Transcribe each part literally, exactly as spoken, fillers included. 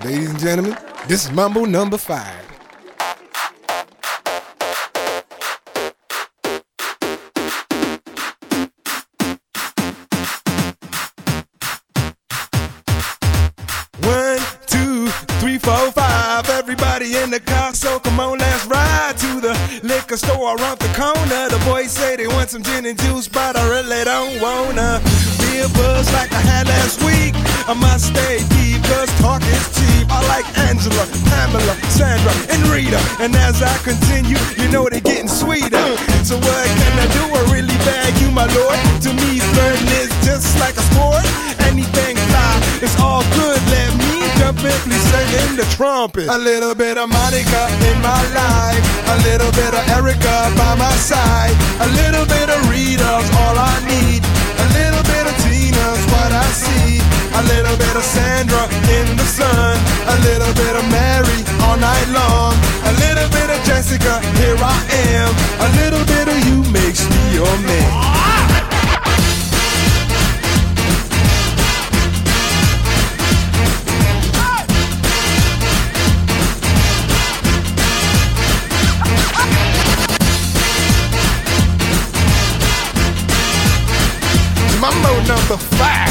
Ladies and gentlemen, this is Mambo number five. One, two, three, four, five. Everybody in the car, so come on, let's ride to the liquor store around the corner. The boys say they want some gin and juice, but I really don't wanna be a buzz like I had last week. I must stay deep, cause talk is cheap. I like Angela, Pamela, Sandra, and Rita. And as I continue, you know they're getting sweeter. So what can I do? I really bag you, my lord. To me, flirting is just like a sport. Anything fly, it's all good. Let me jump in, please sing in the trumpet. A little bit of Monica in my life, a little bit of Erica by my side, a little bit of Rita's all I need, a little bit of Tina's what I see, a little bit of Sandra in the sun, a little bit of Mary all night long, a little bit of Jessica, here I am, a little bit of you makes me your man. Mambo number five.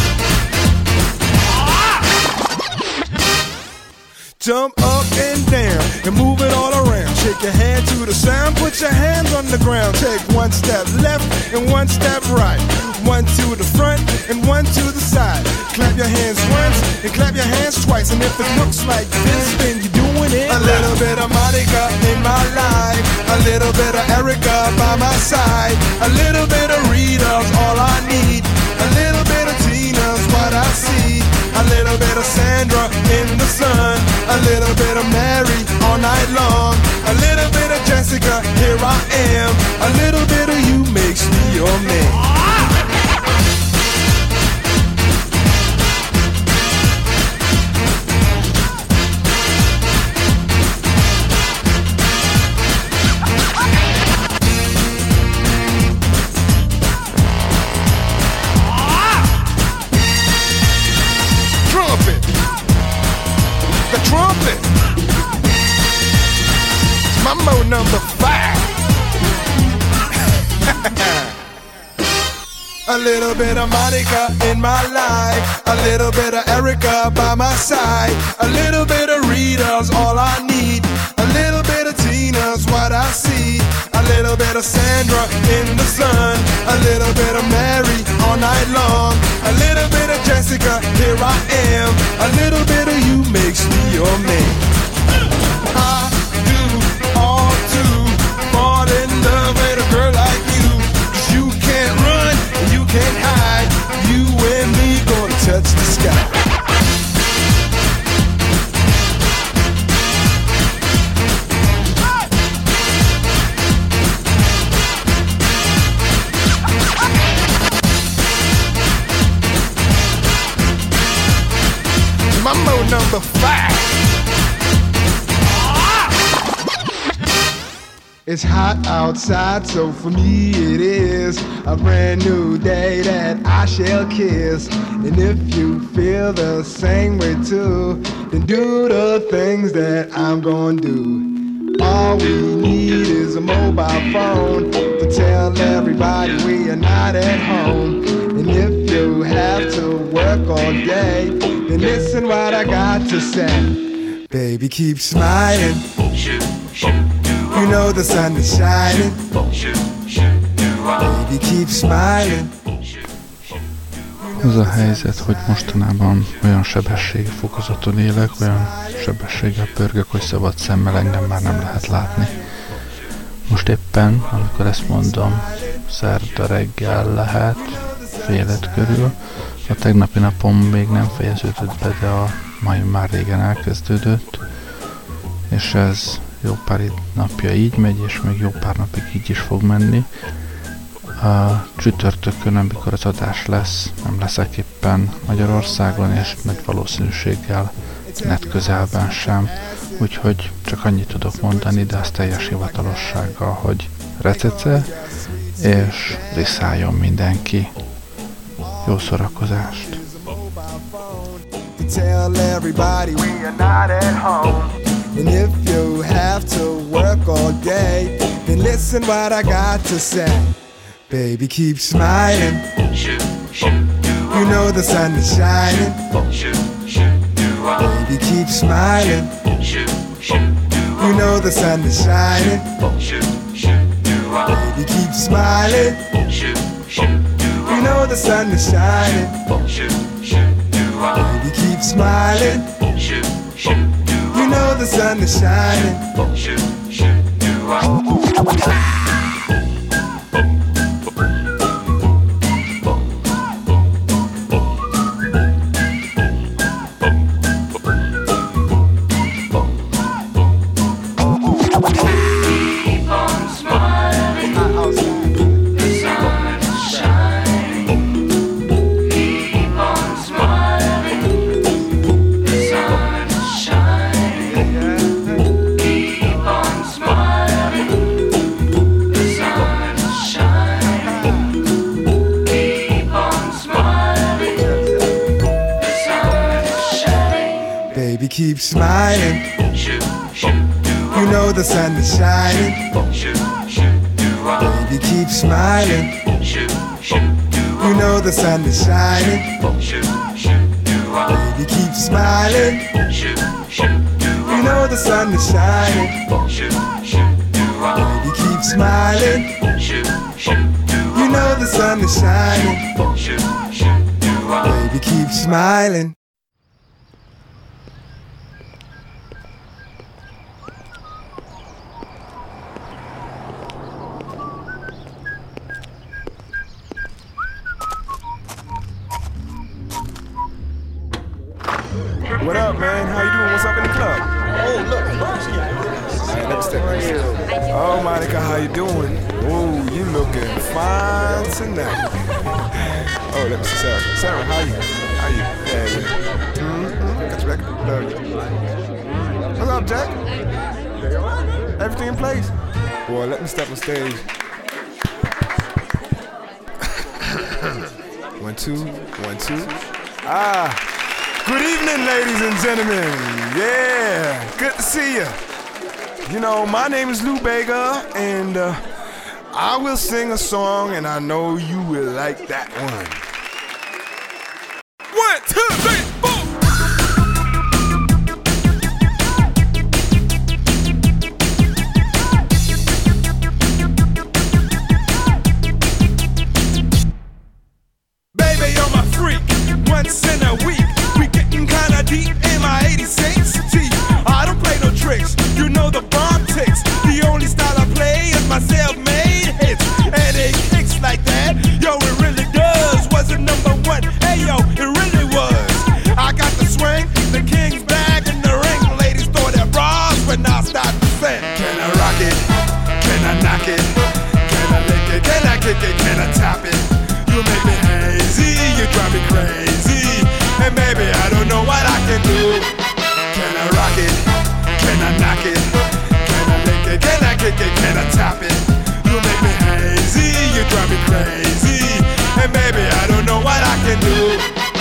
Jump up and down and move it all around. Shake your hand to the sound, put your hands on the ground. Take one step left and one step right. One to the front and one to the side. Clap your hands once and clap your hands twice. And if it looks like this, then you're doing it. A little bit of Monica in my life, a little bit of Erica by my side, a little bit of Rita's all I need, a little bit of Tina's what I see, a little bit of Sandra in the sun, a little bit of Mary all night long, a little bit of Jessica, here I am, a little bit of you makes me your man. Trumpet. Mambo number five. A little bit of Monica in my life, a little bit of Erica by my side, a little bit of Rita's all I need, a little bit of Tina's what I see, a little bit of Sandra in the sun, a little bit of Mary all night long, a little bit of Jessica, here I am, a little bit of you makes me your man. I do all to fall in love with a girl like you, 'cause you can't run and you can't hide, you and me gonna touch the sky. Mambo number five. It's hot outside, so for me it is a brand new day that I shall kiss. And if you feel the same way too, then do the things that I'm gonna do. All we need is a mobile phone to tell everybody we are not at home. And if you have to work all day, then listen what I got to say. Baby, keep smiling. You know the sun is shining. Baby, keep smiling. Az a helyzet, hogy mostanában olyan sebességfokozaton élek, olyan sebességgel pörgök, hogy szabad szemmel engem már nem lehet látni. Most éppen, amikor ezt mondom, szerda reggel lehet, fél öt körül. A tegnapi napom még nem fejeződött be, de a mai már régen elkezdődött, és ez jó pár napja így megy, és még jó pár napig így is fog menni. A csütörtökön, amikor az adás lesz, nem leszek éppen Magyarországon, és nagy valószínűséggel net közelben sem, úgyhogy csak annyit tudok mondani, de az teljes hivatalossággal, hogy recece, és riszáljon mindenki. Jó szórakozást! tell everybody we are not at home. And if you have to work all day, then listen what I got to say. Baby, keep smiling. You know the sun is shining. Baby, keep smiling. You know the sun is shining. Baby, keep smiling. You know the sun is shining. Baby, keep smiling. You know the sun is shining. Keep smiling. You know the sun is shining. Baby, keep smiling. You know the sun is shining. Baby, keep smiling. You know the sun is shining. Baby, keep smiling. You know the sun is shining. Baby, keep smiling. What up, man? How you doing? What's up in the club? Oh, look, right, let me step right here. Oh, Monica, how you doing? Oh, you looking fine tonight. Oh, let me see Sarah. Sarah, how you? How you? Yeah, yeah. Mm-hmm. Got your back. Love you. What's up, Jack? Everything in place? Boy, let me step on stage. One, two, one, two. Ah. Good evening, ladies and gentlemen. Yeah, good to see you. You know, my name is Lou Bega, and uh, I will sing a song, and I know you will like that one. One, two, three, four. Baby, you're my freak, once in a week. Kinda deep in my eighty-six T. I don't play no tricks, you know the bomb ticks. The only style I play is my self-made hits. And it kicks like that, yo, it really does. Was it number one? Hey, yo, it really was. I got the swing, the king's bag and the ring. Ladies throw their bras when I start to sing. Can I rock it? Can I knock it? Can I lick it? Can I kick it? Can I top it? You make me hazy, you drive me crazy. And baby, I don't know what I can do. Can I rock it? Can I knock it? Can I lick it? Can I kick it? Can I top it? You make me hazy, you drive me crazy. And baby, I don't know what I can do.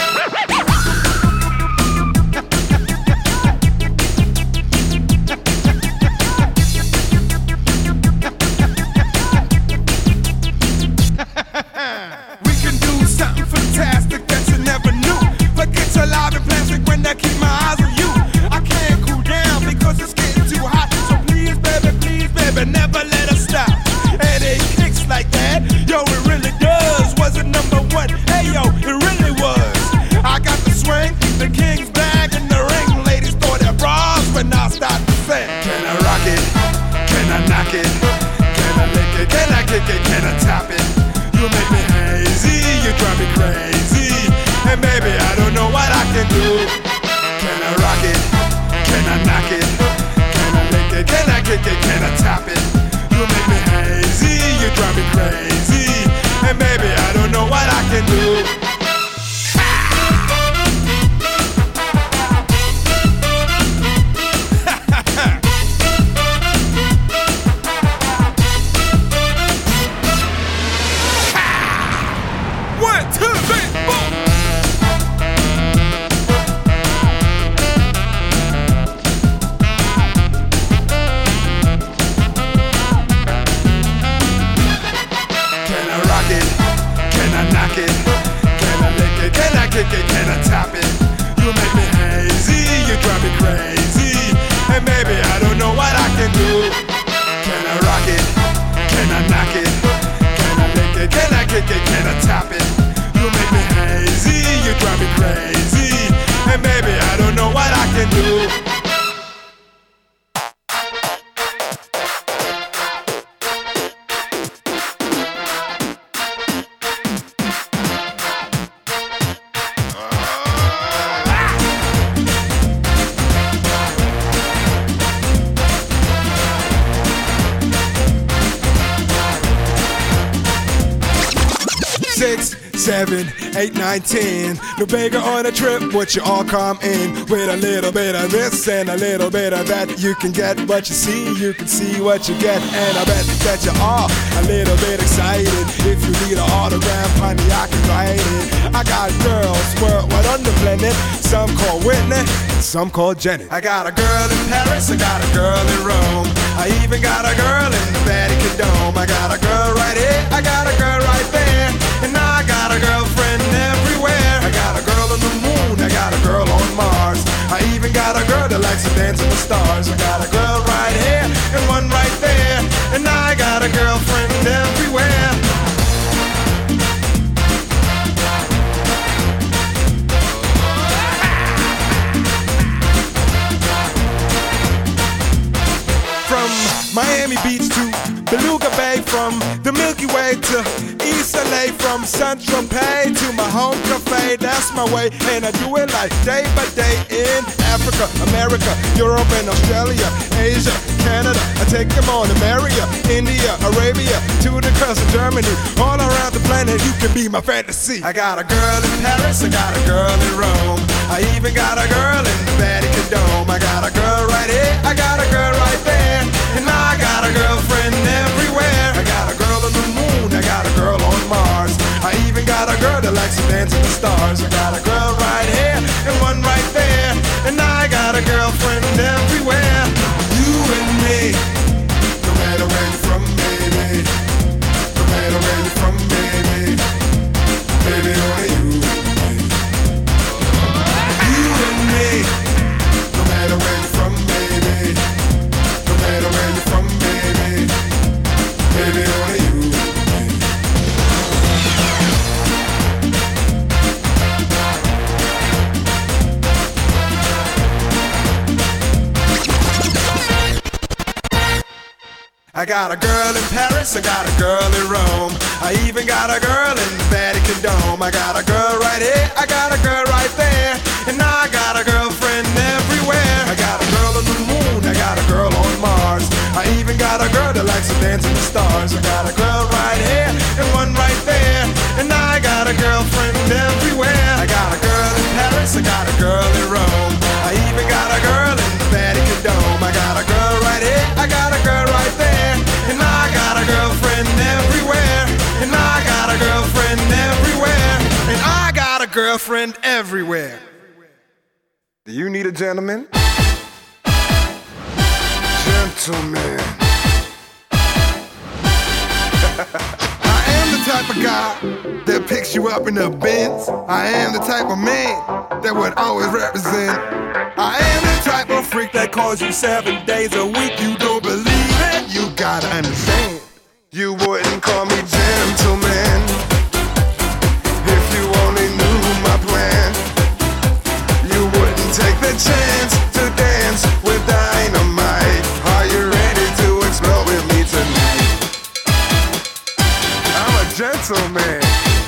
We can do something fantastic that you never knew. Forget your live and plastic when I keep my eyes on you. I can't cool down because it's getting too hot. So please, baby, please, baby, never let us stop. And it kicks like that, yo, it really does. Was it number one? Hey, yo, it really was. I got the swing, the king's bag, and the ring. Ladies throw their bras when I start to sing. Can I rock it? Can I knock it? Can I lick it? Can I kick it? Can I top it? You make me hazy, you drive me crazy. And baby, I don't know what I can do. Can I rock it? Can I knock it? Can I lick it? Can I kick it? Can I top it? You make me hazy, you drive me crazy. And baby, I don't know what I can do. One, two, three, four. seven, eight, nine, ten. No bigger on a trip, would you all come in with a little bit of this and a little bit of that? You can get what you see, you can see what you get, and I bet that you are a little bit excited. If you need an autograph, honey, I can write it. I got girls worldwide on the planet, some call Whitney, and some call Janet. I got a girl in Paris, I got a girl in Rome, I even got a girl in the Vatican Dome. I got a girl right here, I got a girl right there, and I got a girlfriend everywhere. I got a girl on the moon, I got a girl on Mars, I even got a girl that likes to dance with the stars. I got a girl right here and one right there, and I got a girlfriend everywhere. From Miami Beach to Beluga Bay, from the Milky Way to East L A, from Saint-Tropez to my home cafe, that's my way, and I do it like day by day in Africa, America, Europe and Australia, Asia, Canada. I take them on to America, India, Arabia, to the coast of Germany, all around the planet. You can be my fantasy. I got a girl in Paris, I got a girl in Rome, I even got a girl in the Vatican Dome. I got a girl right here, I got a girl right there, and I got a girlfriend everywhere. I got a girl on the moon, I got a girl on Mars, I even got a girl that likes to dance with the stars. I got a girl right here and one right there, and I got a girlfriend everywhere. You and me, no matter where you're from, baby, no matter where you're from, baby, baby, only you. You and me, no matter where you're from, baby, no matter where you're from, baby, baby, only you. I got a girl in Paris, I got a girl in Rome, I even got a girl in the Vatican Dome. I got a girl right here, I got a girl right there, and I got a girlfriend everywhere. I got a girl on the moon, I got a girl on Mars, I even got a girl that likes to dance with the stars. I got a girl right here and one right there, and I got a girlfriend everywhere. I got a girl in Paris, I got a girl in Rome, I even got a girl in the Vatican Dome. I got a girl right here, I got a girl right there, and I got a girlfriend everywhere, and I got a girlfriend everywhere, and I got a girlfriend everywhere. Do you need a gentleman? Gentleman. I am the type of guy that picks you up in the Benz. I am the type of man that would always represent. I am the type of freak that calls you seven days a week. You don't believe it? You gotta understand. You wouldn't call me gentleman if you only knew my plan. You wouldn't take the chance to dance with dynamite. Are you ready to explore with me tonight? I'm a gentleman.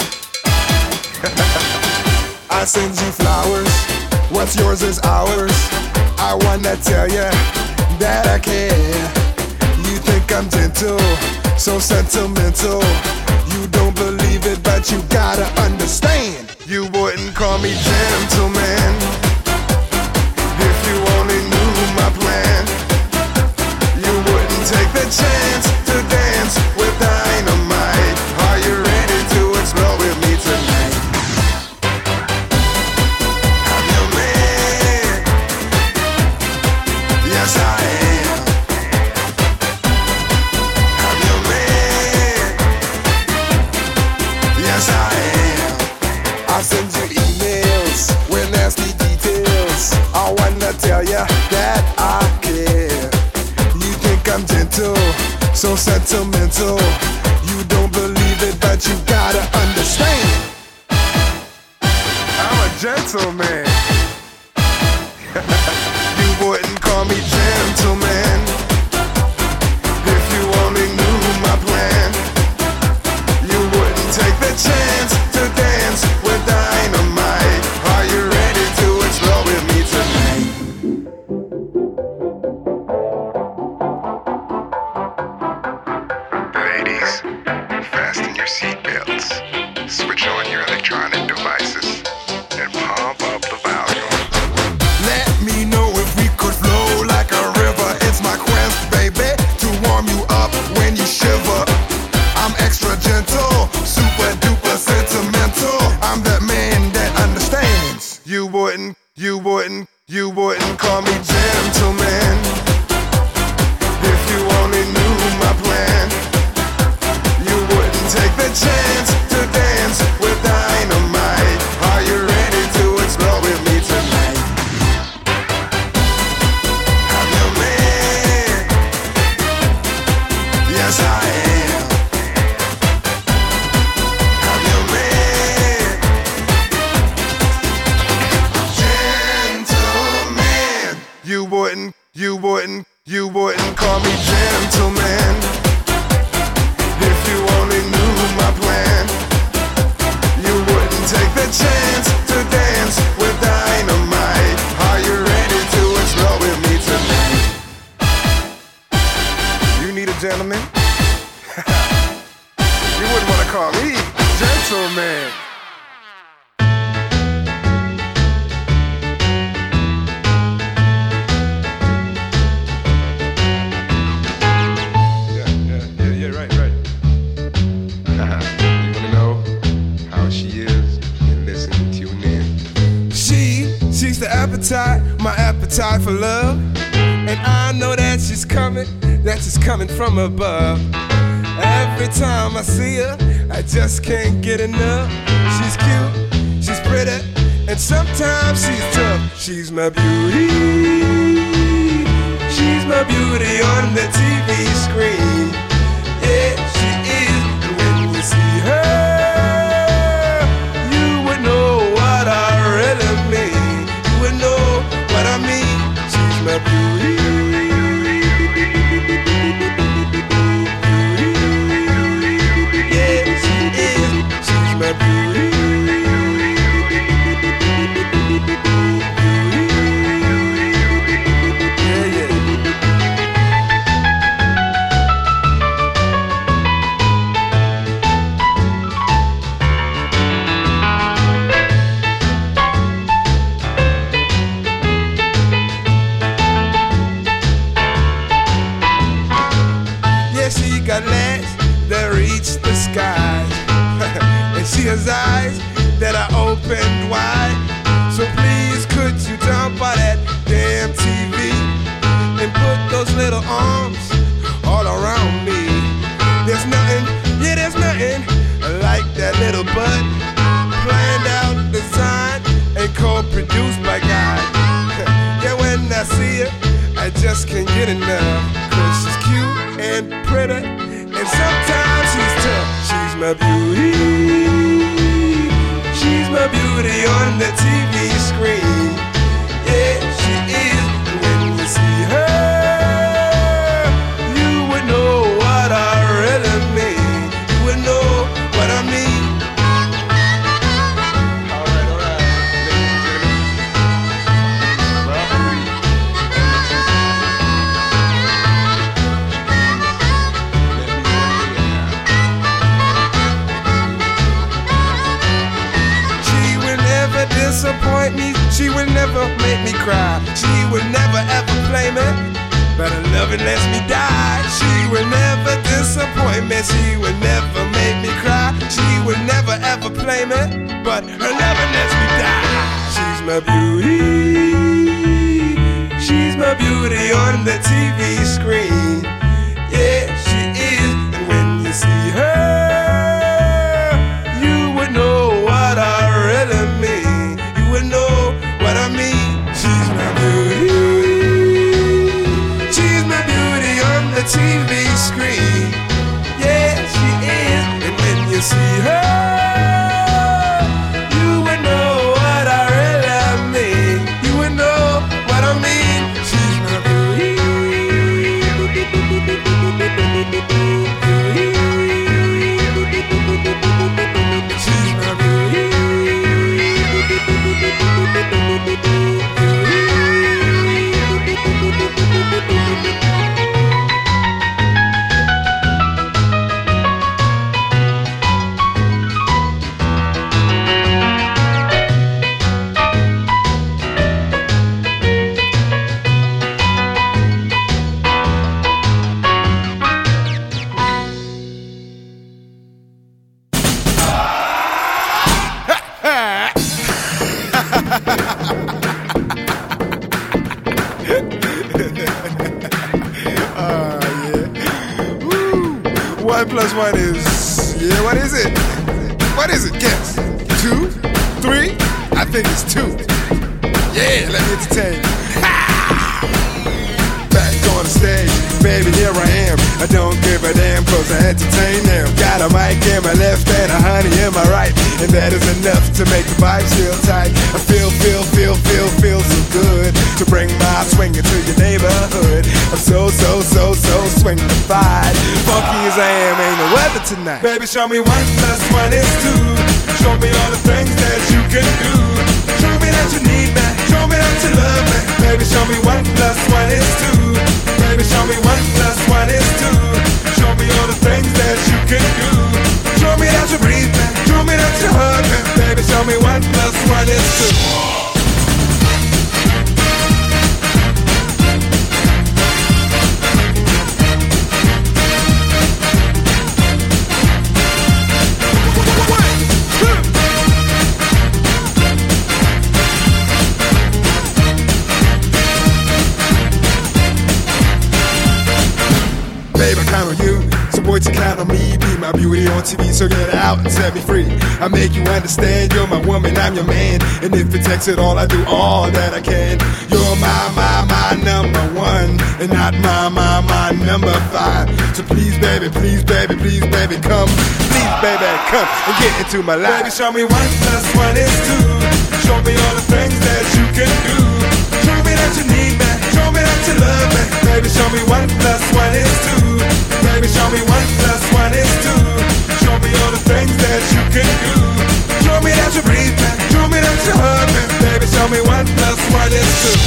I send you flowers, what's yours is ours. I wanna tell you that I care. You think I'm gentle, so sentimental. You don't believe it, but you gotta understand. You wouldn't call me gentleman if you only knew my plan. You wouldn't take the chance to dance with dynamite. Are you ready to explore with me tonight? I'm your man. Yes, I am. I'm your man. Yes, I am. I send you emails with nasty details. I wanna tell you that I care. You think I'm gentle, so sentimental. You don't believe it, but you gotta understand. I'm a gentleman. You wouldn't call me gentleman if you only knew my plan. You wouldn't take the chance to dance with dynamite. Are you ready to explore with me tonight? Ladies, fasten your seatbelts. Switch on your wouldn't, you wouldn't, you wouldn't call me gentleman if you only knew my plan. You wouldn't take the chance to dance with dynamite. Are you ready to explore with me tonight? I'm your man. Yes, I am. I'm your man. Gentleman. You wouldn't, you wouldn't, you wouldn't call me gentleman if you only knew my plan. You wouldn't take the chance to dance with dynamite. Are you ready to explore with me tonight? You need a gentleman? You wouldn't want to call me gentleman. She's the appetite, my appetite for love. And I know that she's coming, that she's coming from above. Every time I see her, I just can't get enough. She's cute, she's pretty, and sometimes she's tough. She's my beauty, she's my beauty on the T V screen. Yeah, she is, and when you see her, you would know what I really mean. Know what I mean. She's my beauty. Yeah, she is. She's my beauty. Yeah, yeah. Got legs that reach the skies, and she has eyes that are opened wide. So please could you jump on that damn T V and put those little arms all around me. There's nothing, yeah there's nothing like that little butt, planned out, designed, and co-produced by God. Yeah, when I see her, I just can't get enough, cause she's cute and pretty, and sometimes she's tough. She's my beauty, she's my beauty on the T V screen. Yeah, she is, and when you see her, you would know what I really mean. You would know what I mean. Alright, alright, ladies and gentlemen, disappoint me, she would never make me cry. She would never ever play me, but her loving lets me die. She would never disappoint me, she would never make me cry. She would never ever play me, but her loving lets me die. She's my beauty, she's my beauty on the T V screen. Yeah, she is, and when you see her, you would know what I really mean. Know what I mean. She's my beauty, she's my beauty on the T V screen. Yeah, she is, and when you see her, you would know what I really mean. You would know what I mean. She's my beauty, beauty. plus one is, yeah, what is it? What is it? Guess. Two? Three? I think it's two. Yeah, let me entertain you. Back on the stage, baby, here I am. I don't give a damn cause I entertain them. Got a mic in my left and a honey in my right, and that is enough to make the vibes feel tight. I feel, feel, feel, feel, feel so good to bring my swing into your neighborhood. I'm so, so, so, so swingified. Funky as I am, ain't no weather tonight. Baby, show me one plus one is two. Show me all the things that you can do. Show me that you need me. Show me that you love me. Baby, show me one plus one is two. Baby, show me one plus one is two. Show me all the things that you can do. Show me that you breathe me. Show me that you hug me. Baby, show me one plus one is two. To count on me, be my beauty on T V, so get out and set me free. I make you understand, you're my woman, I'm your man, and if it takes it all, I do all that I can. You're my, my, my number one, and not my, my, my number five. So please, baby, please, baby, please, baby, come, please, baby, come and get into my life. Baby, show me one plus one is two. Show me all the things that you can do. Show me that you need me. Show me that you love me. Baby, show me one plus one is two. Baby, show me one plus one is two. Show me all the things that you can do. Show me that you breathe me. Show me that you hug me. Baby, show me one plus one is two.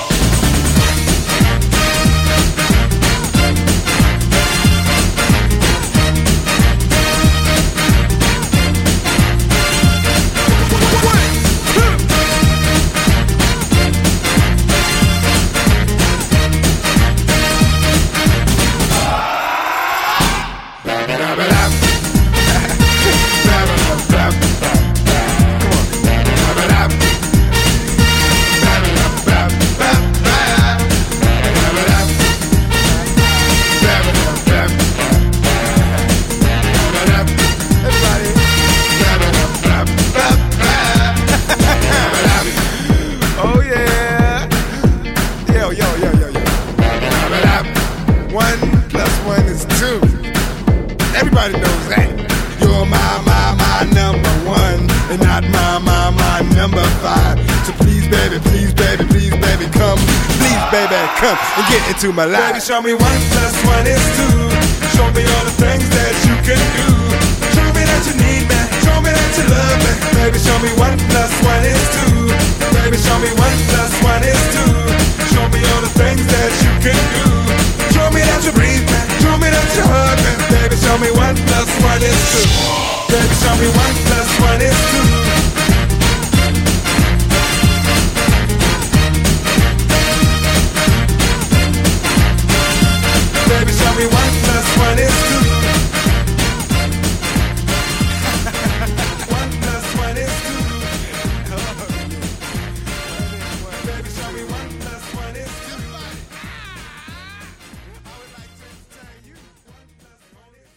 Come and get into my life. Baby, show me one plus one is two. Show me all the things that you can do. Show me that you need me. Show me that you love me. Baby, show me one plus one is two. Baby, show me one plus one is two. Show me all the things that you can do. Show me that you breathe me. Show me that you hug me. Baby, show me one plus one is two. Baby, show me one plus one is two. Baby, show me one plus one is two. One plus one is two. Baby, show me one plus one is two. I would like to tell you one plus one is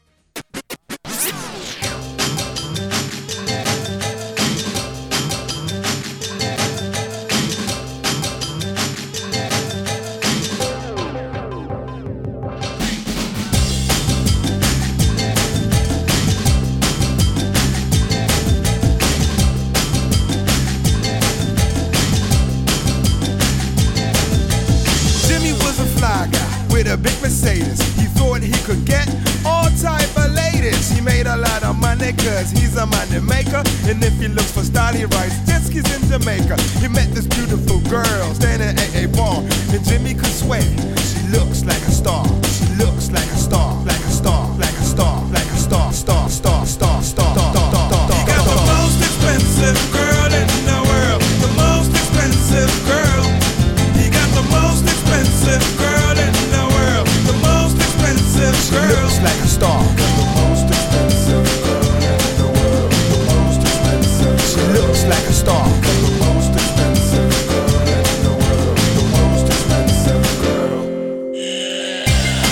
with a big Mercedes. He thought he could get all type of ladies. He made a lot of money cause he's a money maker. And if he looks for style, he writes jet skis in Jamaica. He met this beautiful girl standing at a bar, and Jimmy could swear she looks like a star. She looks like a star, like a star, like a star, like a star, star, star, star, star, star, star, star. He got the most expensive girl in the world. The most expensive girl. He got the most expensive girl in the world. The most expensive girl. She looks like a star. The most expensive girl in the world. The most expensive. She looks like a star. The most expensive girl in the world. The most expensive girl.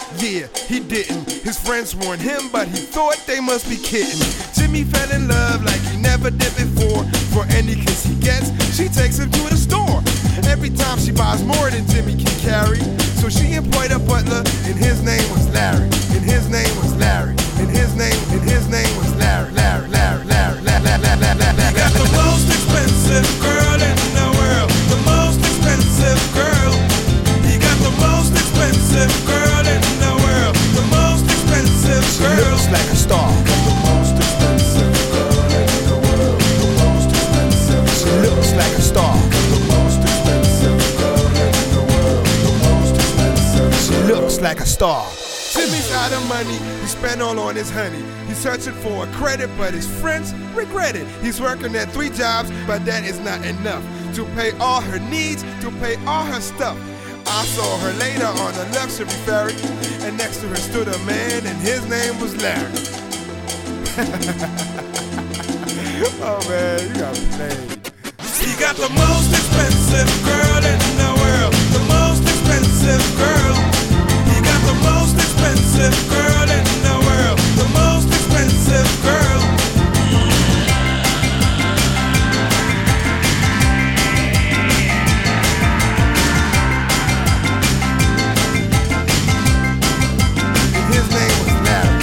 Yeah, he didn't. His friends warned him, but he thought they must be kidding. Jimmy fell in love like he never did before. For any kiss he gets, she takes him to the store. Every time she buys more than Jimmy can carry. So she employed a butler, and his name was Larry. And his name was Larry. And his name, and his name was Larry. Larry, Larry, Larry, Larry, Larry, Larry, Larry. He got the most expensive girl in the world. The most expensive girl. He got the most expensive girl in the world. The most expensive girl. She looks like a star. The most expensive girl in the world. The most expensive. She looks like a star. The most expensive girl in the world. The most expensive. She looks like a star. Jimmy's out of money, he spent all on his honey. He's searching for a credit, but his friends regret it. He's working at three jobs, but that is not enough to pay all her needs, to pay all her stuff. I saw her later on a luxury ferry, and next to her stood a man, and his name was Larry. Oh man, you got played. He got the most expensive girl in the world. The most expensive girl. He got the most expensive girl in the world. The most expensive girl. And his name was Larry.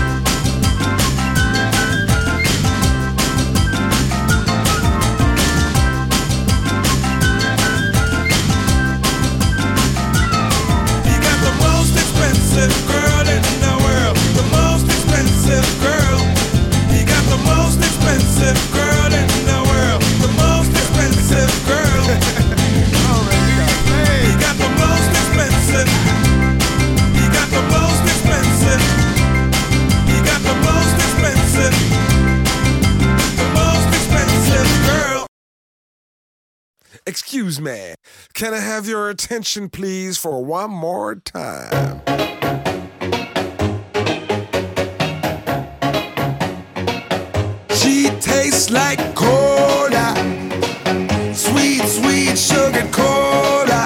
He got the most expensive girl in the world. The most expensive girl. He got the most expensive girl in the world. The most expensive girl. Oh man, you got played. He got the most expensive. He got the most expensive. He got the most expensive. The most expensive girl. Excuse me, can I have your attention please for one more time? She tastes like cola, sweet, sweet sugar cola.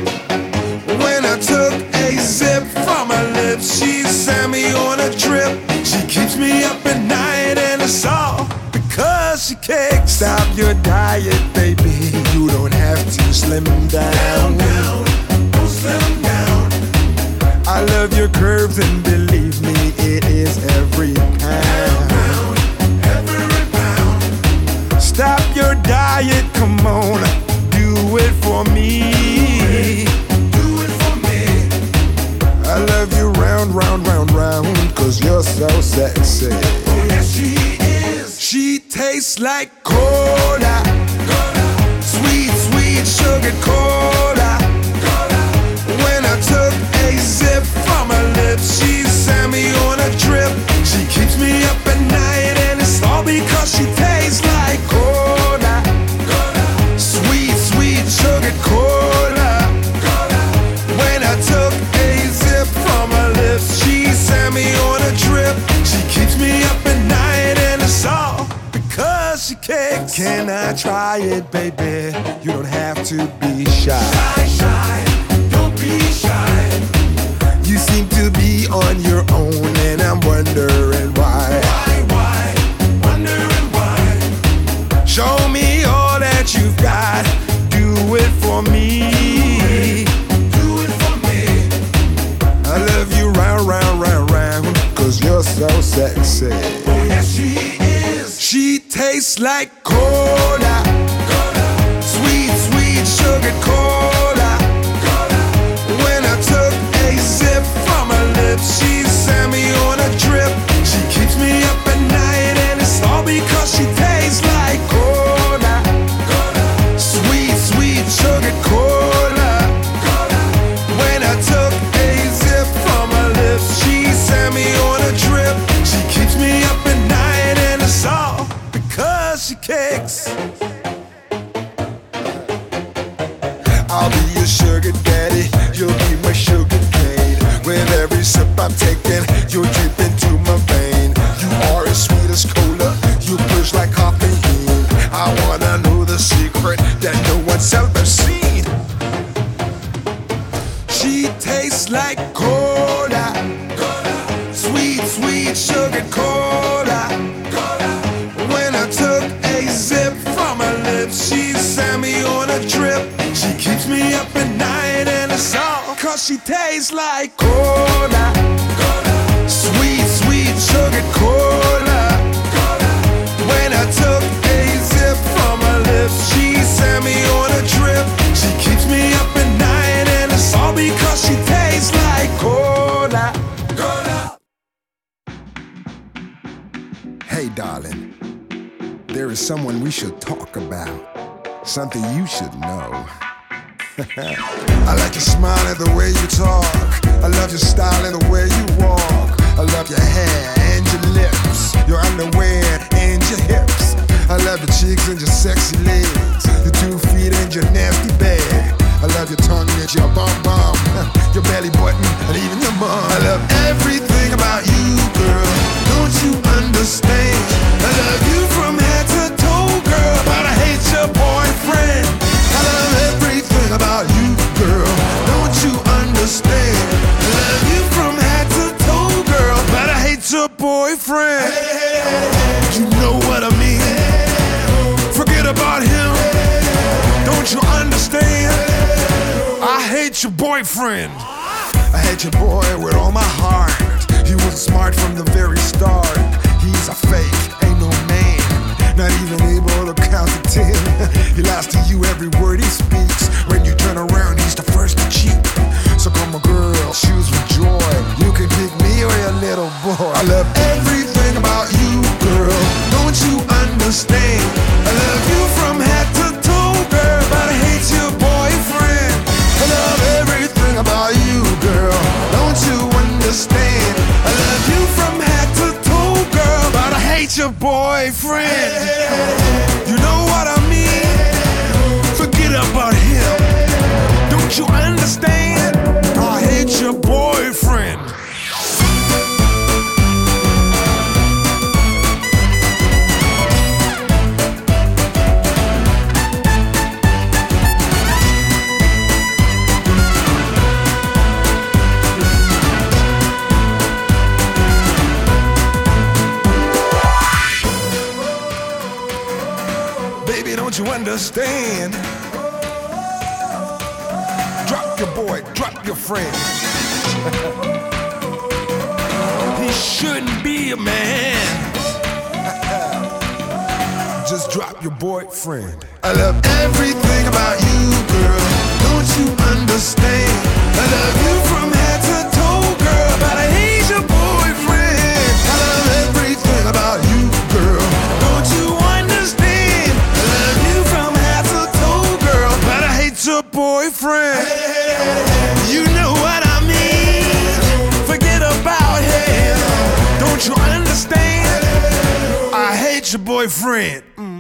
When I took a sip from her lips, she sent me on a trip. She keeps me up at night and it's all because she kicks. Stop your diet, baby. You don't have to slim down. Down, oh, slim down. I love your curves and believe me, it is every pound. Every pound. Stop your diet, come on, do it for me. Do it for me. I love you round, round, round, round, cause you're so sexy. Oh, yes, she is. She tastes like cola, Cola, sweet, sweet sugar cola. cola. When I took a sip from her lips, she sent me on a trip. She keeps me up at night and it's all because she tastes like cola, Cola, sweet, sweet sugar cola. cola. When I took a sip from her lips, she sent me on a trip. She keeps me up at night and it's all because she kicks. Can I try it, baby? You don't have to be shy. Shy, shy, don't be shy. You seem to be on your own and I'm wondering why. Why, why, wondering why. Show me all that you've got. Do it for me. Do it for me. I love you round, round, round, round, cause you're so sexy. Oh, yes, she is. She tastes like cola, Cola, sweet, sweet sugar cola. cola. When I took a sip from her lips, she sent me on a trip. She keeps me up at night and it's all because she tastes like cola, Cola, sweet, sweet sugar cola. cola. When I took a sip from her lips, she sent me on a trip. She keeps me up at night and it's all because she kicks. I'll be your sugar daddy, you'll be my sugar cane. With every sip I'm taking, you're deep into my vein. You are as sweet as cola, you push like caffeine. I wanna know the secret that no one's ever seen. She tastes like cola, sweet sugar cola. When I took a sip from her lips, she sent me on a trip. She keeps me up at night and it's all cause she tastes like cola. Sweet, sweet sugar cola. When I took a sip from her lips, she sent me on a trip. She keeps me up at night and it's all because she tastes like cola. Cola. Hey darling, there is someone we should talk about. Something you should know. I like your smile and the way you talk. I love your style and the way you walk. I love your hair and your lips, your underwear and your hips. I love your cheeks and your sexy legs, your two feet and your nasty bag. I love your tongue and your bum bum, your belly button and even your mom. I love everything about you, girl. Don't you understand? I love you from head to toe, girl, but I hate your boyfriend. I love everything about you, girl. Don't you understand? I love you from head to toe, girl, but I hate your boyfriend. You know what I mean? Forget about him. Don't you understand? I hate your boyfriend. I hate your boy with all my heart. He was smart from the very start. He's a fake, ain't no man, not even able to count to ten. He lies to you every word he speaks. When you turn around, he's the first to cheat. So come on girl, choose with joy. You can pick me or your little boy. I love everything about you, girl. Don't you understand? I love you from head to toe, girl, but I hate your boyfriend. I love everything about you, girl. Don't you understand? I love you from head to toe, girl, but I hate your boyfriend. You know what I mean? Forget about him. Don't you understand? I hate your boyfriend. Baby, don't you understand? Drop your boy, drop your friend. He shouldn't be a man. Just drop your boyfriend. I love everything about you, girl. Don't you understand? I love you from head to toe, girl, but I hate your boyfriend. I love everything about you, girl. Don't you understand? I love you from head to toe, girl, but I hate your boyfriend. You know what I mean? Forget about him. Don't you understand? I hate your boyfriend. Mm.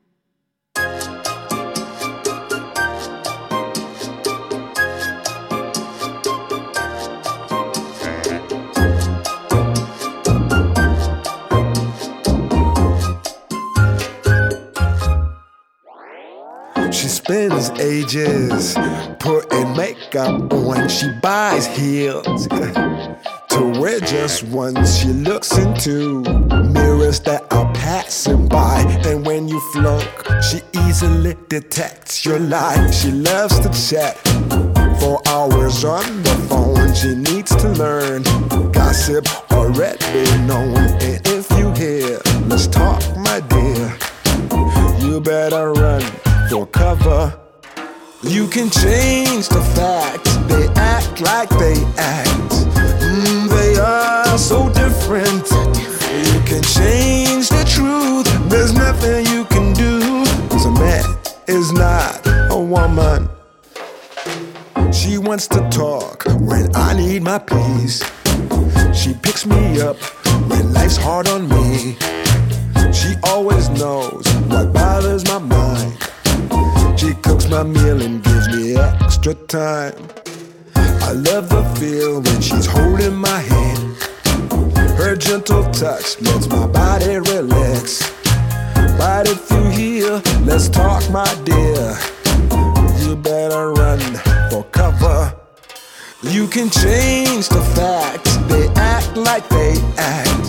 She spends ages putting makeup on. She buys heels to wear just once. She looks into mirrors that are passing by, and when you flunk, she easily detects your lie. She loves to chat for hours on the phone. She needs to learn gossip already known. And if you hear, let's talk, my dear, you better run for cover. You can change the facts. They act like they act. Mm, they are so different. You can change the truth. There's nothing you can do. 'Cause a man is not a woman. She wants to talk when I need my peace. She picks me up when life's hard on me. She always knows what bothers my mind. She cooks my meal and gives me extra time. I love the feel when she's holding my hand. Her gentle touch lets my body relax. But if you hear, let's talk, my dear, you better run for cover. You can change the facts. They act like they act.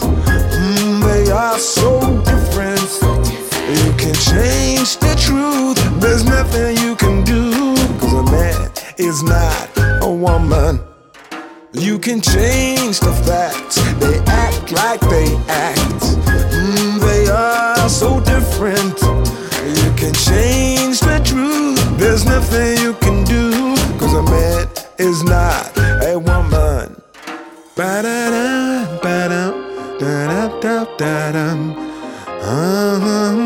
You can change the facts. They act like they act. Mm, they are so different. You can change the truth. There's nothing you can do, 'cause a man is not a woman. Ba-da-da, ba-da, da-da-da-da-da. Uh-huh.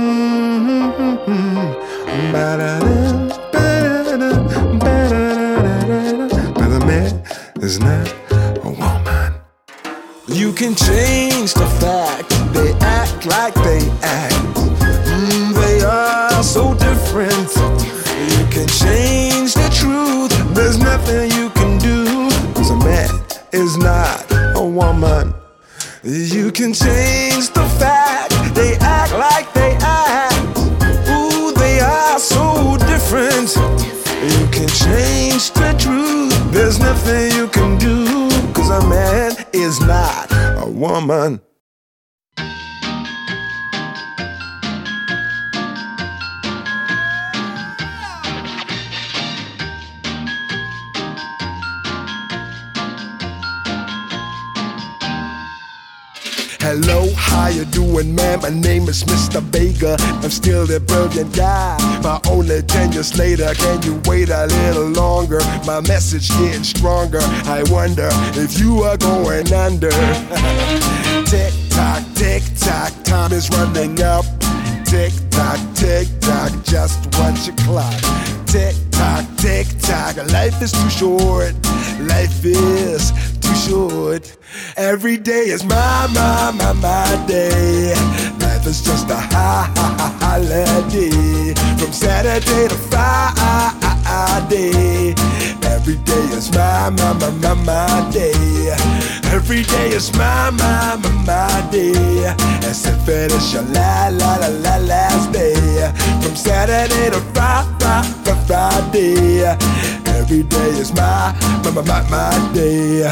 Ba-da-da, ba-da-da, ba-da-da-da-da. But a man is not a woman. You can change the fact. They act like they act. Mm, they are so different. You can change the truth. There's nothing you can do, 'cause a man is not a woman. You can change the fact. They act like they act. Ooh, they are so different. You can change the truth. There's nothing you can do, 'cause a man is not a woman. Hello, how you doing, man? My name is Mister Vega. I'm still the brilliant guy, but only ten years later. Can you wait a little longer? My message getting stronger. I wonder if you are going under. Tick tock, tick tock, time is running up. Tick tock, tick tock, just watch your clock. Tick tock, tick tock, life is too short. Life is too short. Every day is my, my, my, my day. Life is just a high, high, holiday. From Saturday to Friday. Every day is my, my, my, my, my day. Every day is my, my, my, my day. As if it is your la, la, la, la, last day. From Saturday to Friday, Friday. Every day is my, my, my, my, my day.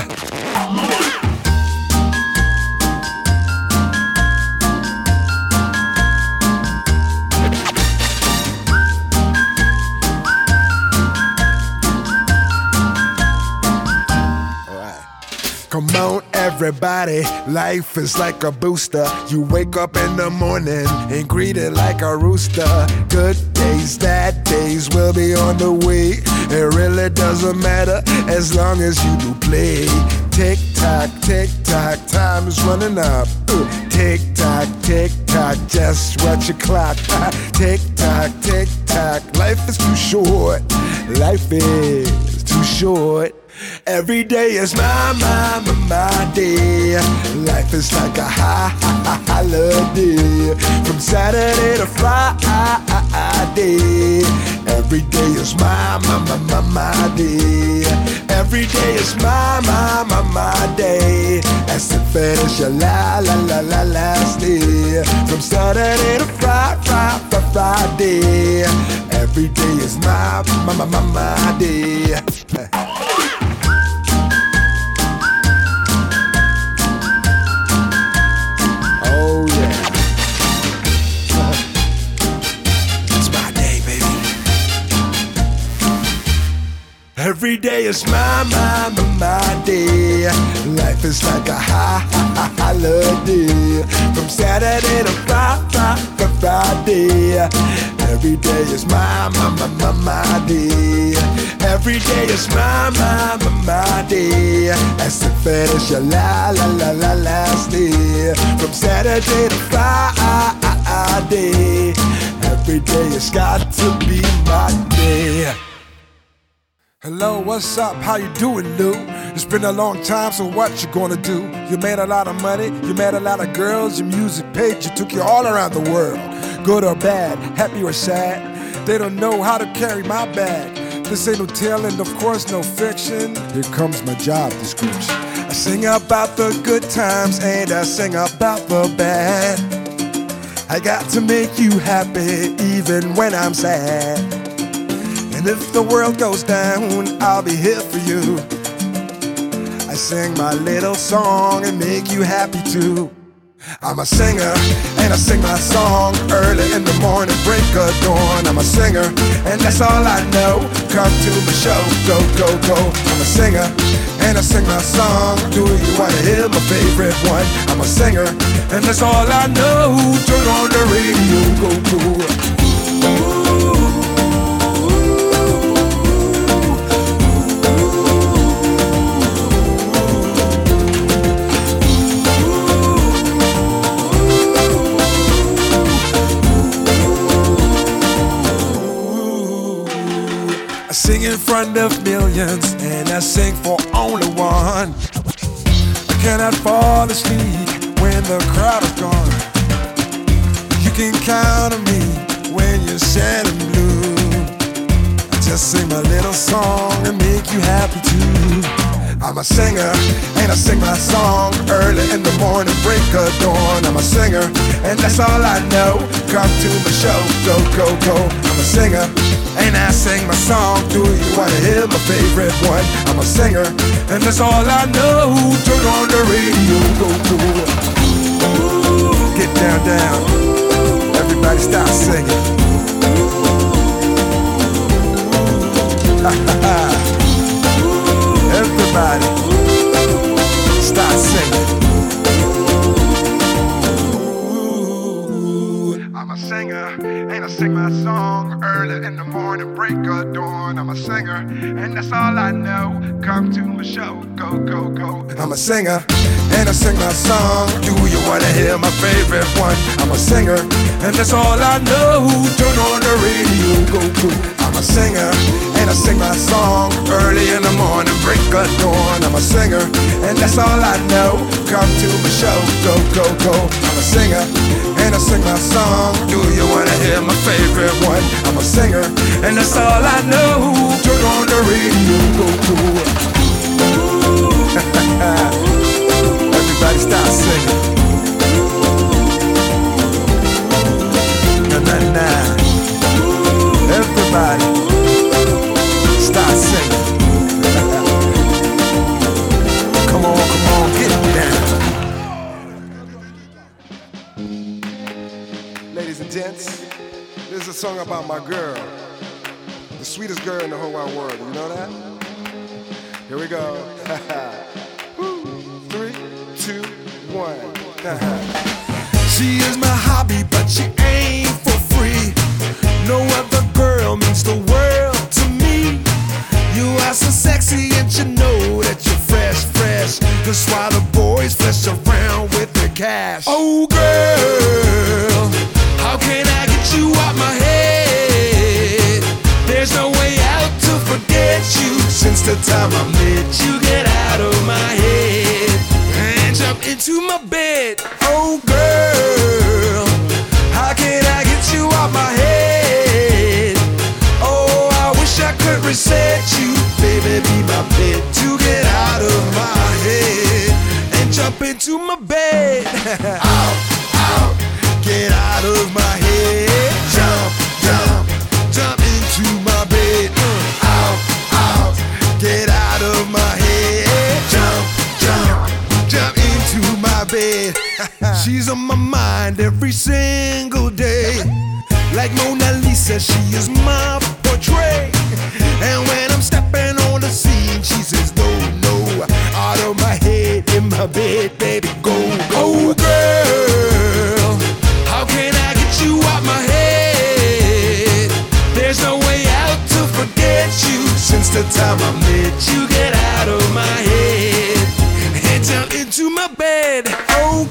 Come on, everybody, life is like a booster. You wake up in the morning and greet it like a rooster. Good days, bad days will be on the way. It really doesn't matter as long as you do play. Tick tock, tick tock, time is running up. Uh, tick tock, tick tock, just watch your clock. Uh, tick tock, tick tock, life is too short. Life is too short. Every day is my, my, my, my day. Life is like a high, high, high holiday. From Saturday to Friday. Every day is my, my, my, my, my day. Every day is my, my, my, my day. As if it is your la, la, la, la, last day. From Saturday to Friday, Friday. Every day is my, my, my, my, my day. Oh yeah, it's my day, baby. Every day is my, my, my, my day. Life is like a high, high, high holiday. From Saturday to Friday, Friday. Every day is my, my, my, my, my day. Every day is my, my, my, my day. As if it is your la, la, la, la, last day. From Saturday to Friday. Every day has got to be my day. Hello, what's up? How you doing, Lou? It's been a long time, so what you gonna do? You made a lot of money, you met a lot of girls, your music paid, you took you all around the world. Good or bad, happy or sad, they don't know how to carry my bag. This ain't no tale and of course no fiction. Here comes my job description. I sing about the good times and I sing about the bad. I got to make you happy even when I'm sad. And if the world goes down, I'll be here for you. I sing my little song and make you happy too. I'm a singer and I sing my song early in the morning, break of dawn. I'm a singer and that's all I know. Come to my show, go, go, go. I'm a singer and I sing my song. Do you wanna hear my favorite one? I'm a singer, and that's all I know. Turn on the radio, go, go. I sing in front of millions, and I sing for only one. I cannot fall asleep when the crowd is gone. You can count on me when you're sad and blue. I just sing my little song and make you happy too. I'm a singer, and I sing my song early in the morning, break of dawn. I'm a singer, and that's all I know. Come to my show, go, go, go. I'm a singer, and I sing my song. Do you wanna hear my favorite one? I'm a singer, and that's all I know. Turn on the radio, go, go. Get down, down. Everybody start singing. Ha ha ha. Everybody, start singing. Ooh, I'm a singer, and I sing my song early in the morning, break of dawn. I'm a singer, and that's all I know. Come to my show, go, go, go. I'm a singer, and I sing my song. Do you wanna hear my favorite one? I'm a singer, and that's all I know. Turn on the radio, go, go. I'm a singer, and I sing my song early in the morning, break of dawn. I'm a singer, and that's all I know. Come to my show, go, go, go. I'm a singer, and I sing my song. Do you wanna hear my favorite one? I'm a singer, and that's all I know. Turn on the radio, go, go. Everybody start singing. Na na na. Everybody start singing. Come on, come on, get it down. Ladies and gents, this is a song about my girl, the sweetest girl in the whole wide world. You know that? Here we go. Three, two, one. She is my hobby, but she ain't for free. No other girl means the world to me. You are so sexy and you know that you're fresh, fresh. That's why the boys flesh around with the cash. Oh girl, how can I get you out my head? There's no way out to forget you. Since the time I met you, get out of my head and jump into my bed. Oh girl, how can I get you out my head? Oh, I wish I could reset you. Baby, be my bed to get out of my head and jump into my bed. Out, out, get out of my head. Jump, jump, jump into my bed. Out, out, get out of my head. Jump, jump, jump into my bed. She's on my mind every single day. Like Mona Lisa, she is my portrait. And when I'm stepping on the scene, she says, no, no, out of my head, in my bed, baby, go, go. Oh, girl, how can I get you out my head? There's no way out to forget you. Since the time I met you, get out of my head and jump into my bed. Oh,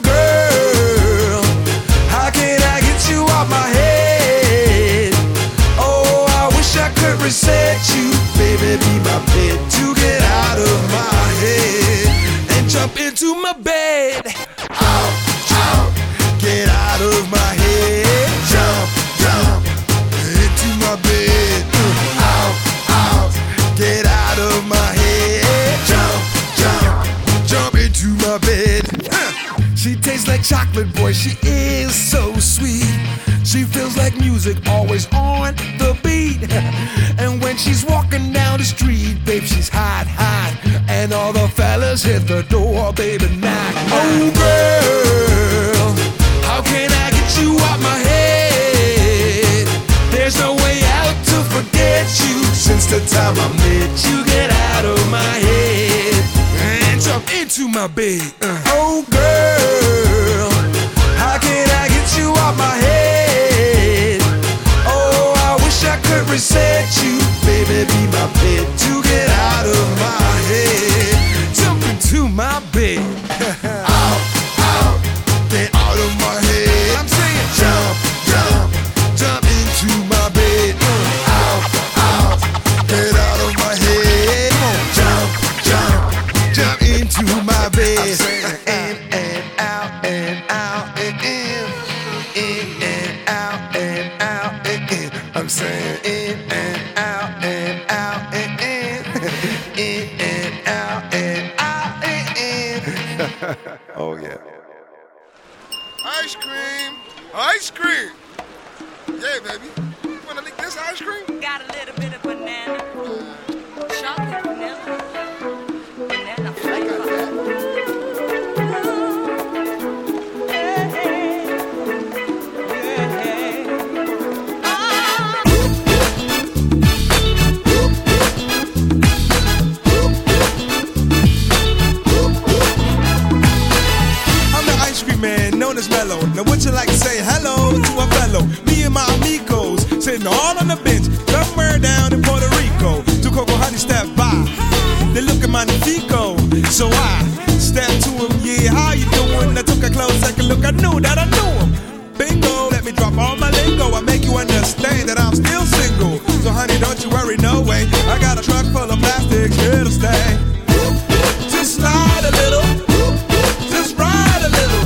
girl, how can I get you out my head? Oh, I wish I could reset you. Baby, be my bed to get out of my head and jump into my bed. Out, out, get out of my head. Jump, jump, into my bed. Out, out, get out of my head. Jump, jump, jump into my bed. She tastes like chocolate, boy, she is so sweet. She feels like music, always on the beat. And when she's walking down the street, babe, she's hot, hot. And all the fellas hit the door, baby, knock, knock. Oh, girl, how can I get you out my head? There's no way out to forget you. Since the time I met you, get out of my head my bed. Uh. Oh girl, how can I get you off my head? Oh, I wish I could reset you. Baby, be my bed to get out of my head. Jump into my bed. Out, out, get out of my head. I'm saying jump, jump, jump into my bed. Out, out, get out of my head. Jump, jump, jump into my bed. In and out and out and in. In and out and out and in. I'm saying in and out and out and in. In and out and out and in. Oh yeah. Ice cream, ice cream. Yeah, baby. You wanna lick this ice cream? Got a little bit of banana, chocolate vanilla, banana flavor. Man, known as Mellow. Now would you like to say hello to a fellow? Me and my amigos sitting all on the bench somewhere down in Puerto Rico. Two Coco Honey step by. They look at magnifico. So I stepped to him. Yeah, how you doing? I took a close second look. I knew that I knew him. Bingo, let me drop all my lingo. I make you understand that I'm still single. So honey, don't you worry, no way. I got a truck full of plastics here to stay. Just slide a little. Just ride a little.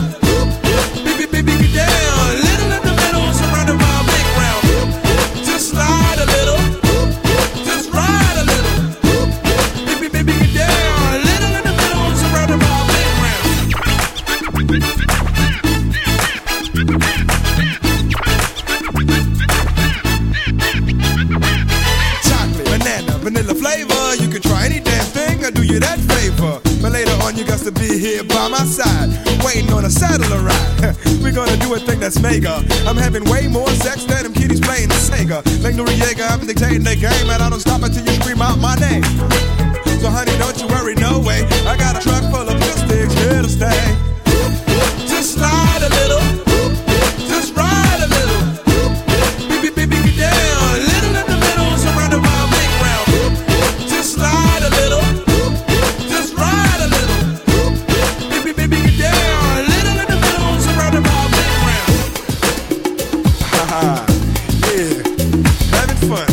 Vanilla flavor, you can try any damn thing, I'll do you that favor. But later on you got to be here by my side, waiting on a saddle to ride. We're gonna do a thing that's mega. I'm having way more sex than them kiddies playing Sega. Like Noriega, I'm dictating the game, and I don't stop until you scream out my name. So honey, don't you worry, no way. I got a truck full of plastics here to stay. Just slide a little, just ride a little. Baby, baby, get down, a little in the middle, surrounded by a big round. Just slide a little, just ride a little. Baby, baby, get down, a little in the middle, surrounded by a big round. Haha, yeah, having fun.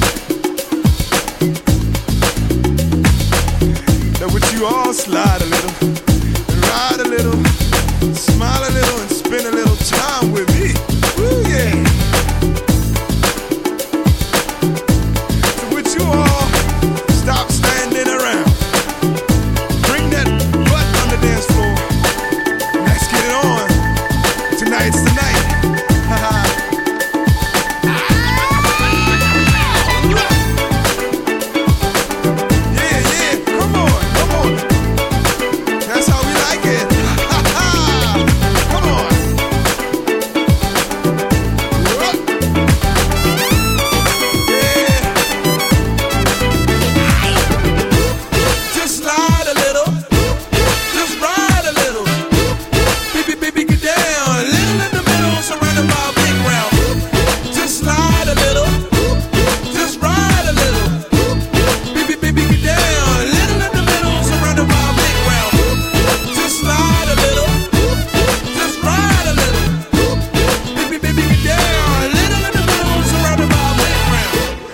Now would you all slide a little, and ride a little, smile a little, and spend a little time with me? Woo, yeah. So would you all stop standing around? Bring that butt on the dance floor. Let's get it on. Tonight's the night. Haha. Yeah, yeah. Come on, come on. That's how we like it. Come on. Yeah. Just slide a little. Just ride a little. Baby, baby, get down. A little in the middle, surrounded by a big round. Just slide a little. Just ride a little. Baby, baby, get down. A little in the middle, surrounded by a big round. Just slide a little. Just ride a little. Baby, baby, get down. A little in the middle, surrounded by a big round.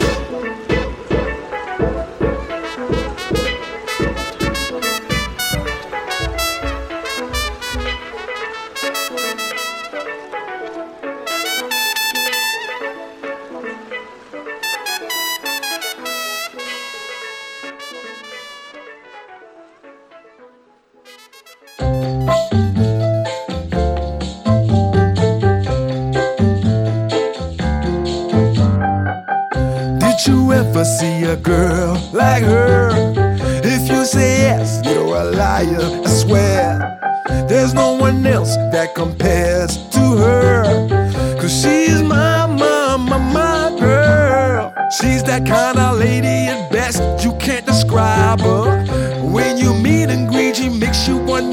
Did you ever see a girl like her? If you say yes, you're a liar, I swear. There's no one else that compares to her. Cause she's my, my, my, my girl. She's that kind of lady at best, you can't describe her. When you meet and greet, she makes you want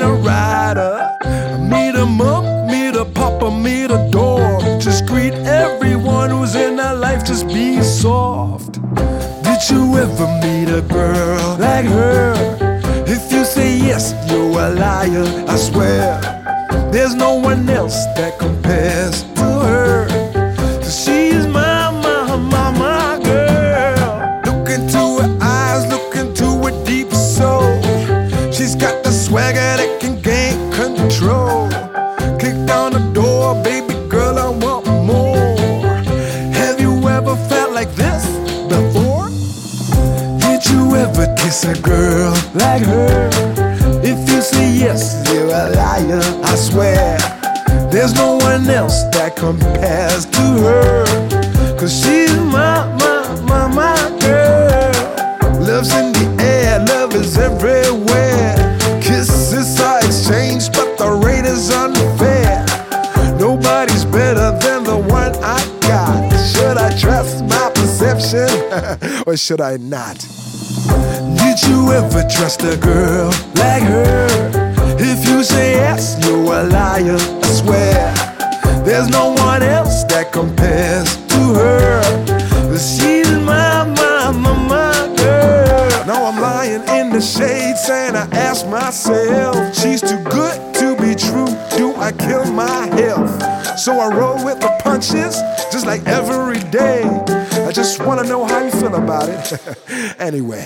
meet a dog? Just greet everyone who's in our life, just be soft. Did you ever meet a girl like her? If you say yes, you're a liar, I swear. There's no one else that compares to her. She's my, my, my, my girl. Look into her eyes, look into her deep soul. She's got the swagger that can gain control. Kick down the door, baby girl, I want more. Have you ever felt like this before? Did you ever kiss a girl like her? If you say yes, you're a liar, I swear. There's no one else that compares to her. Cause she's my, my, my, my girl. Love's in the air, love is everywhere. Kisses are exchanged, but the rate is unfair. Nobody's better than the one I got. Should I trust my perception or should I not? Did you ever trust a girl like her? If you say yes, you're a liar, I swear. There's no one else that compares to her. She's my, my, my, my girl. Now I'm lying in the shade saying I ask myself, she's too good to be true, do I kill my health? So I roll with the punches, just like every day. I just wanna know how you feel about it. Anyway.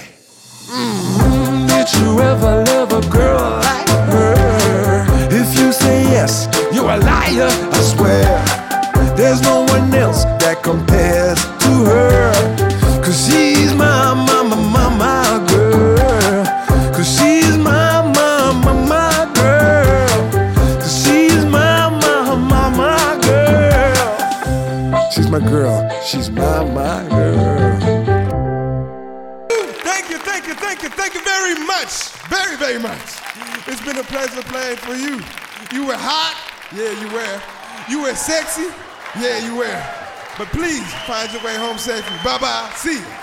Mm-hmm. Did you ever love a girl like her? If you say yes, you're a liar, I swear. There's no one else that compares to her. Cause she's my, my, my, my, my girl. Cause she's my, my, my, my girl. Cause she's my, my, my, my girl. She's my girl, she's my, my girl. Thank you, thank you, thank you, thank you very much. Very, very much. It's been a pleasure playing for you. You were hot, yeah, you were. You were sexy, yeah, you were. But please, find your way home safely. Bye-bye, see you.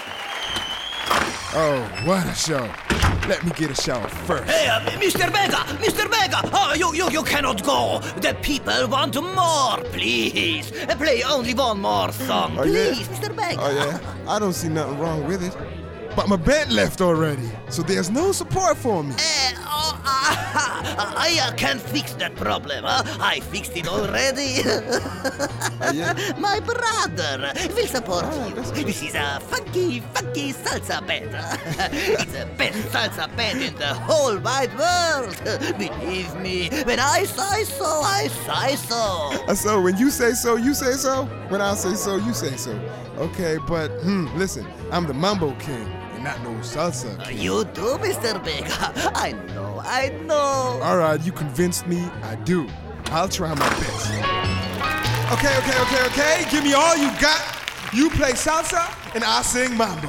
Oh, what a show. Let me get a shower first. Hey, uh, Mister Vega, Mister Vega, oh, you, you, you cannot go. The people want more, please. Uh, Play only one more song, Oh, please, yeah? Mister Vega. Oh, yeah? I don't see nothing wrong with it. But my band left already, so there's no support for me. Uh, oh, uh, I uh, can fix that problem. Uh, I fixed it already. Oh, yeah? My brother will support Ah, you. that's good. This is a funky, funky salsa band. It's the best salsa band in the whole wide world. Believe me, when I say so, I say so. Uh, So when you say so, you say so? When I say so, you say so. Okay, but hmm, listen, I'm the Mambo King and not no salsa king. You do, Mister Vega. I know, I know. All right, you convinced me. I do. I'll try my best. Okay, okay, okay, okay. Give me all you got. You play salsa and I sing mambo.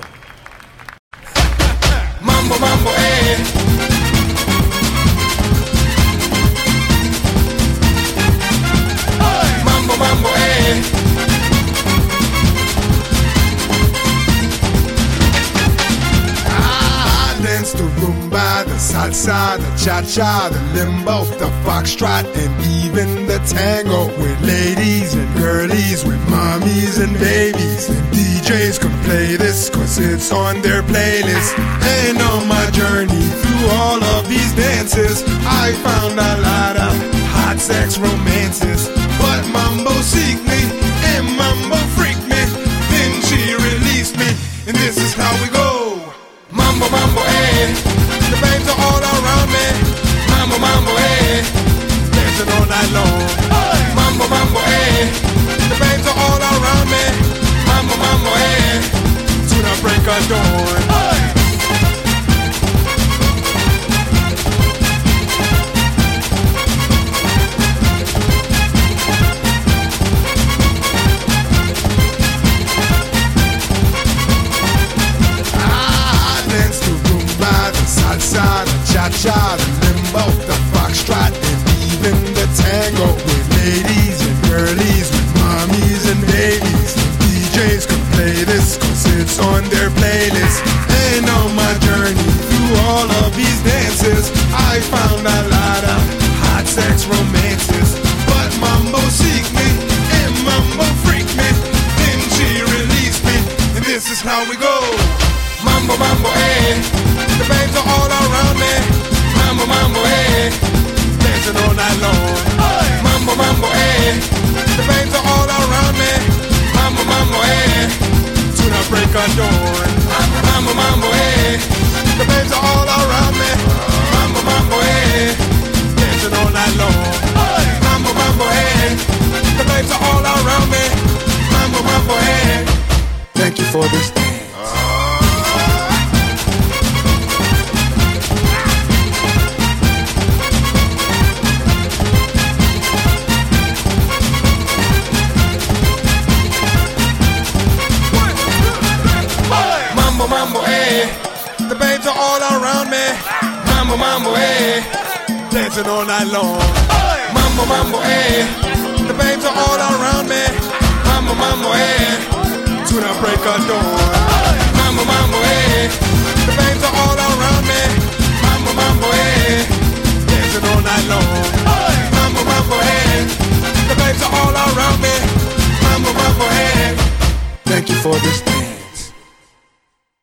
Mambo, mambo, eh. Mambo, mambo, eh. I dance the rumba, the salsa, the cha-cha, the limbo, the foxtrot, and even the tango. With ladies and girlies, with mommies and babies. And D Js can play this cause it's on their playlist. And on my journey through all of these dances, I found a lot of hot sex romances. But mambo seek me, and mambo freak me. Then she released me, and this is how we go. Mambo, mambo, eh. The babes are all around me. Mambo, mambo, eh. Dancing all night long. Mambo, mambo, eh. The babes are all around me. Mambo, mambo, eh. To the break of dawn. Salsa, the cha-cha, the limbo, the foxtrot, and even the tango. With ladies and girlies, with mommies and babies. D Js can play this cause it's on their playlist. And on my journey through all of these dances, I found a lot of hot sex romances. But mambo how we go. Mambo, mambo, eh. The babes are all around me. Mambo, mambo, eh. Dancing all night long. Mambo, mambo, eh. The babes are all around me. Mambo, mambo, eh. To the break of dawn. Mambo, mambo, eh. The babes are all around me. Mambo, mambo, eh. Dancing all night long. Mambo, mambo, eh. The babes are all around me. Mambo, mambo, eh. Thank you for this dance. Mambo, mambo, eh. The babes are all around me. Mambo, mambo, eh. Dancing all night long. Mambo, mambo, eh. The babes are all around me. Mambo, mambo, eh.